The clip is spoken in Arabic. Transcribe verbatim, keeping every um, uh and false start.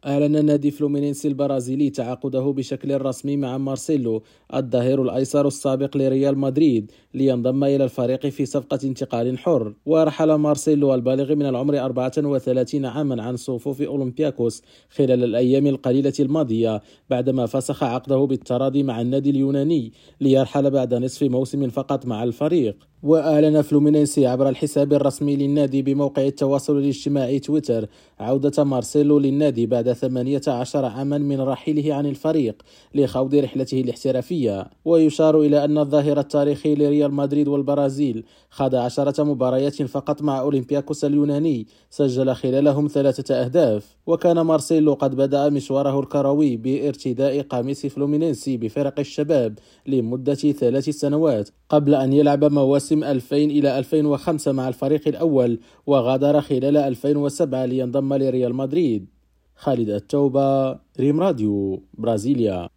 أعلن نادي فلومينينسي البرازيلي تعاقده بشكل رسمي مع مارسيلو الظهير الأيسر السابق لريال مدريد لينضم إلى الفريق في صفقة انتقال حر. ورحل مارسيلو البالغ من العمر أربعة وثلاثين عاما عن صفوف أولمبياكوس خلال الأيام القليلة الماضية بعدما فسخ عقده بالتراضي مع النادي اليوناني ليرحل بعد نصف موسم فقط مع الفريق. وأعلن فلومينينسي عبر الحساب الرسمي للنادي بموقع التواصل الاجتماعي تويتر عودة مارسيلو للنادي بعد ثمانية عشر عاما من رحيله عن الفريق لخوض رحلته الاحترافية. ويشار إلى أن الظاهر التاريخي لريال مدريد والبرازيل خاض عشرة مباريات فقط مع أولمبياكوس اليوناني سجل خلالهم ثلاثة أهداف. وكان مارسيلو قد بدأ مشواره الكروي بارتداء قميص فلومينينسي بفرق الشباب لمدة ثلاث سنوات قبل أن يلعب مواسم ألفين إلى ألفين وخمسة مع الفريق الأول، وغادر خلال ألفين وسبعة لينضم لريال مدريد. خالد التوبة، ريم راديو، برازيليا.